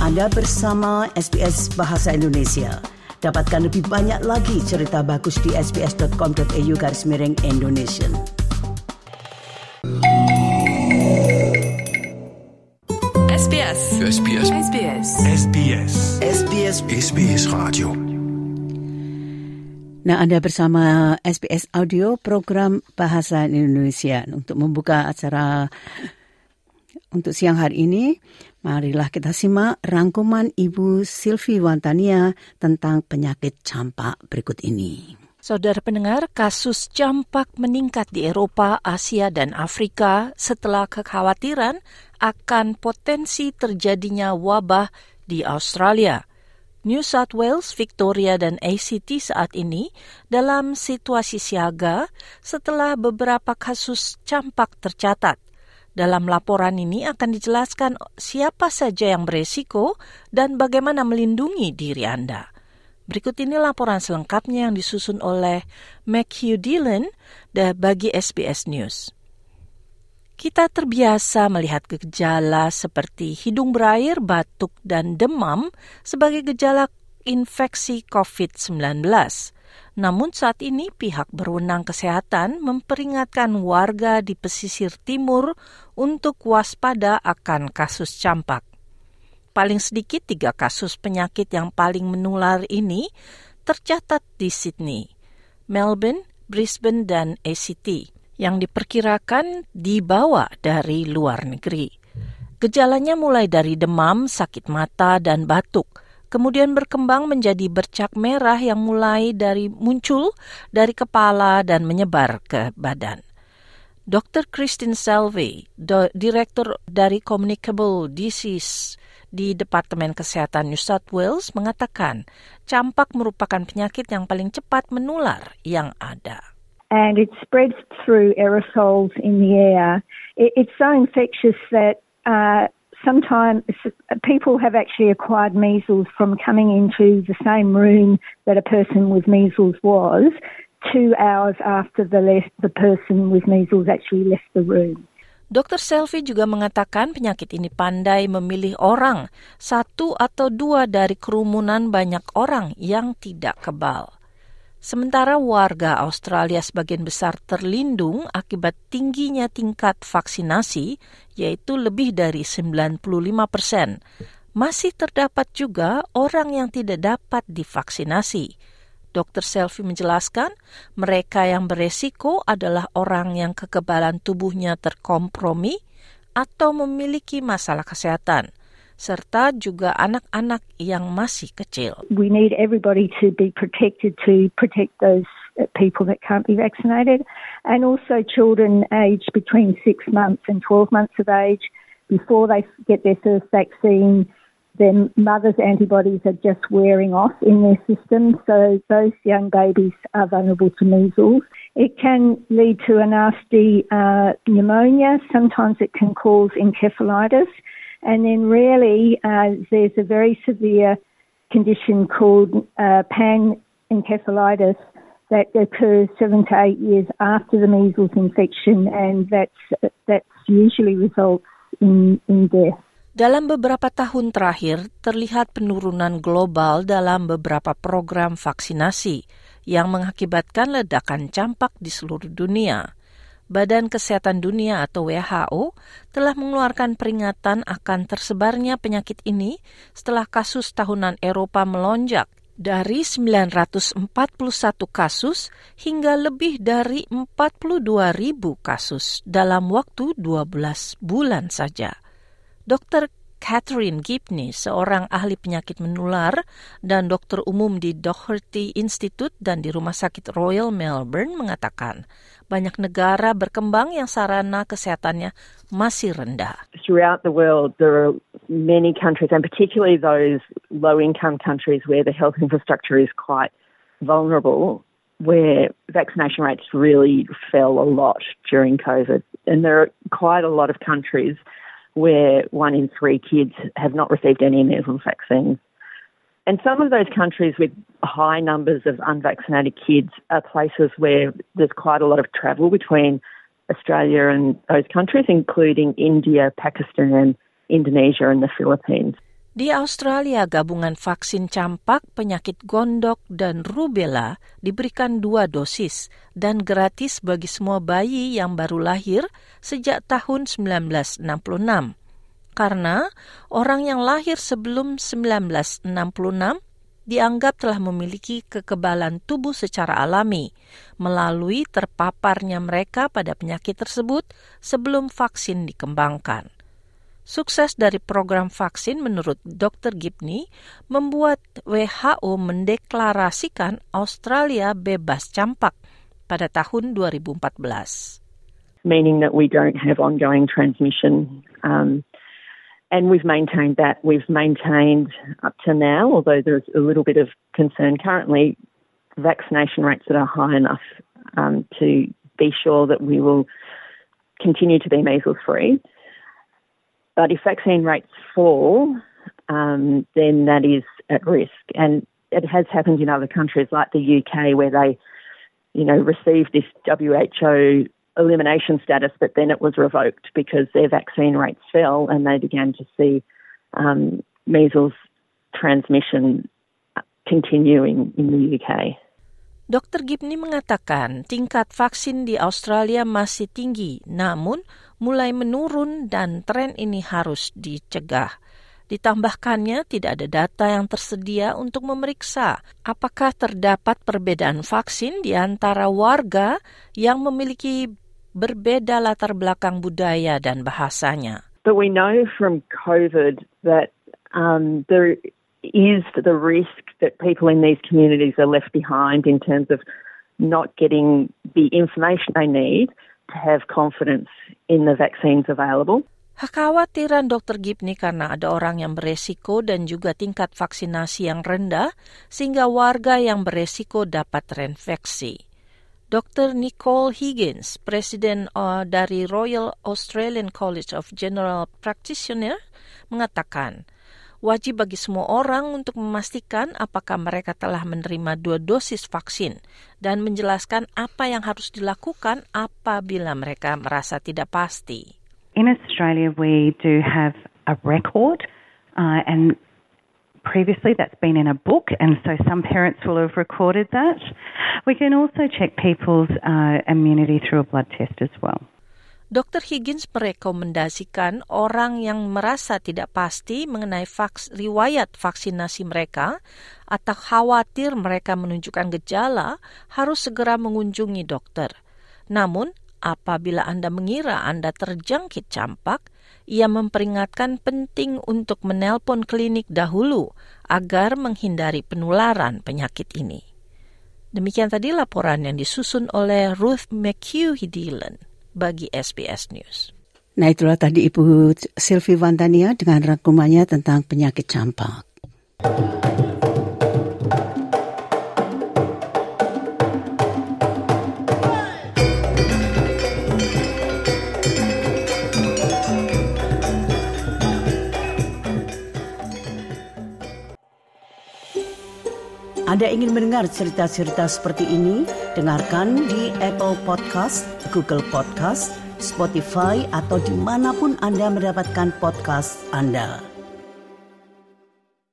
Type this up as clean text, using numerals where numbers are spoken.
Anda bersama SBS Bahasa Indonesia. Dapatkan lebih banyak lagi cerita bagus di sbs.com.au/Indonesian. SBS. SBS. SBS. SBS. SBS. SBS Radio. Nah, Anda bersama SBS Audio program Bahasa Indonesia. Untuk membuka acara untuk siang hari ini, marilah kita simak rangkuman Ibu Sylvie Wantania tentang penyakit campak berikut ini. Saudara pendengar, kasus campak meningkat di Eropa, Asia, dan Afrika setelah kekhawatiran akan potensi terjadinya wabah di Australia. New South Wales, Victoria, dan ACT saat ini dalam situasi siaga setelah beberapa kasus campak tercatat. Dalam laporan ini akan dijelaskan siapa saja yang beresiko dan bagaimana melindungi diri Anda. Berikut ini laporan selengkapnya yang disusun oleh Matthew Dillon bagi SBS News. Kita terbiasa melihat gejala seperti hidung berair, batuk, dan demam sebagai gejala infeksi COVID-19. Namun saat ini pihak berwenang kesehatan memperingatkan warga di pesisir timur untuk waspada akan kasus campak. Paling sedikit 3 kasus penyakit yang paling menular ini tercatat di Sydney, Melbourne, Brisbane, dan ACT yang diperkirakan dibawa dari luar negeri. Gejalanya mulai dari demam, sakit mata, dan batuk, kemudian berkembang menjadi bercak merah yang mulai muncul dari kepala dan menyebar ke badan. Dr. Christine Selvey, Direktur dari Communicable Disease di Departemen Kesehatan New South Wales, mengatakan campak merupakan penyakit yang paling cepat menular yang ada. And it spreads through aerosols in the air. It's so infectious that sometimes people have actually acquired measles from coming into the same room that a person with measles was 2 hours after the person with measles actually left the room. Dr. Selvey juga mengatakan penyakit ini pandai memilih orang, 1 atau 2 dari kerumunan banyak orang yang tidak kebal. Sementara warga Australia sebagian besar terlindung akibat tingginya tingkat vaksinasi, yaitu lebih dari 95%. Masih terdapat juga orang yang tidak dapat divaksinasi. Dr. Selvey menjelaskan, mereka yang beresiko adalah orang yang kekebalan tubuhnya terkompromi atau memiliki masalah kesehatan, serta juga anak-anak yang masih kecil. We need everybody to be protected to protect those people that can't be vaccinated, and also children aged between 6 months and 12 months of age. Before they get their first vaccine, their mother's antibodies are just wearing off in their system, so those young babies are vulnerable to measles. It can lead to a nasty pneumonia. Sometimes it can cause encephalitis. And then rarely there's a very severe condition called panencephalitis that occurs 7 to 8 years after the measles infection, and that's usually results in death. Dalam beberapa tahun terakhir, terlihat penurunan global dalam beberapa program vaksinasi yang mengakibatkan ledakan campak di seluruh dunia. Badan Kesehatan Dunia atau WHO telah mengeluarkan peringatan akan tersebarnya penyakit ini setelah kasus tahunan Eropa melonjak dari 941 kasus hingga lebih dari 42.000 kasus dalam waktu 12 bulan saja. Dr. Catherine Gibney, seorang ahli penyakit menular dan dokter umum di Doherty Institute dan di Rumah Sakit Royal Melbourne, mengatakan banyak negara berkembang yang sarana kesehatannya masih rendah. Throughout the world, there are many countries, and particularly those low-income countries where the health infrastructure is quite vulnerable, where vaccination rates really fell a lot during COVID. And there are quite a lot of countries where 1 in 3 kids have not received any measles vaccines. And some of those countries with high numbers of unvaccinated kids are places where there's quite a lot of travel between Australia and those countries, including India, Pakistan, Indonesia and the Philippines. Di Australia, gabungan vaksin campak, penyakit gondok, dan rubella diberikan 2 dosis dan gratis bagi semua bayi yang baru lahir sejak tahun 1966. Karena orang yang lahir sebelum 1966 dianggap telah memiliki kekebalan tubuh secara alami melalui terpaparnya mereka pada penyakit tersebut sebelum vaksin dikembangkan. Sukses dari program vaksin menurut Dr. Gibney membuat WHO mendeklarasikan Australia bebas campak pada tahun 2014. Meaning that we don't have ongoing transmission. And we've maintained that. We've maintained up to now, although there's a little bit of concern currently, vaccination rates that are high enough to be sure that we will continue to be measles-free. But if vaccine rates fall, then that is at risk. And it has happened in other countries like the UK where they, received this WHO elimination status, but then it was revoked because their vaccine rates fell and they began to see measles transmission continuing in the UK. Dr. Gibney mengatakan tingkat vaksin di Australia masih tinggi, namun mulai menurun dan tren ini harus dicegah. Ditambahkannya, tidak ada data yang tersedia untuk memeriksa apakah terdapat perbedaan vaksin di antara warga yang memiliki berbeda latar belakang budaya dan bahasanya. But we know from COVID that there is the risk that people in these communities are left behind in terms of not getting the information they need to have confidence in the vaccines available. Kekhawatiran Dr. Gibney karena ada orang yang beresiko dan juga tingkat vaksinasi yang rendah sehingga warga yang beresiko dapat terinfeksi. Dr. Nicole Higgins, Presiden dari Royal Australian College of General Practitioners, mengatakan wajib bagi semua orang untuk memastikan apakah mereka telah menerima 2 dosis vaksin dan menjelaskan apa yang harus dilakukan apabila mereka merasa tidak pasti. In Australia, we do have a record and previously that's been in a book, and so some parents will have recorded that. We can also check people's immunity through a blood test as well. Dr. Higgins merekomendasikan orang yang merasa tidak pasti mengenai riwayat vaksinasi mereka atau khawatir mereka menunjukkan gejala harus segera mengunjungi dokter. Namun, apabila Anda mengira Anda terjangkit campak, ia memperingatkan penting untuk menelpon klinik dahulu agar menghindari penularan penyakit ini. Demikian tadi laporan yang disusun oleh Ruth McHugh-Dillon bagi SBS News. Nah, itulah tadi Ibu Sylvie Vandania dengan rangkumannya tentang penyakit campak. Anda ingin mendengar cerita-cerita seperti ini? Dengarkan di Apple Podcast, Google Podcast, Spotify, atau dimanapun Anda mendapatkan podcast Anda.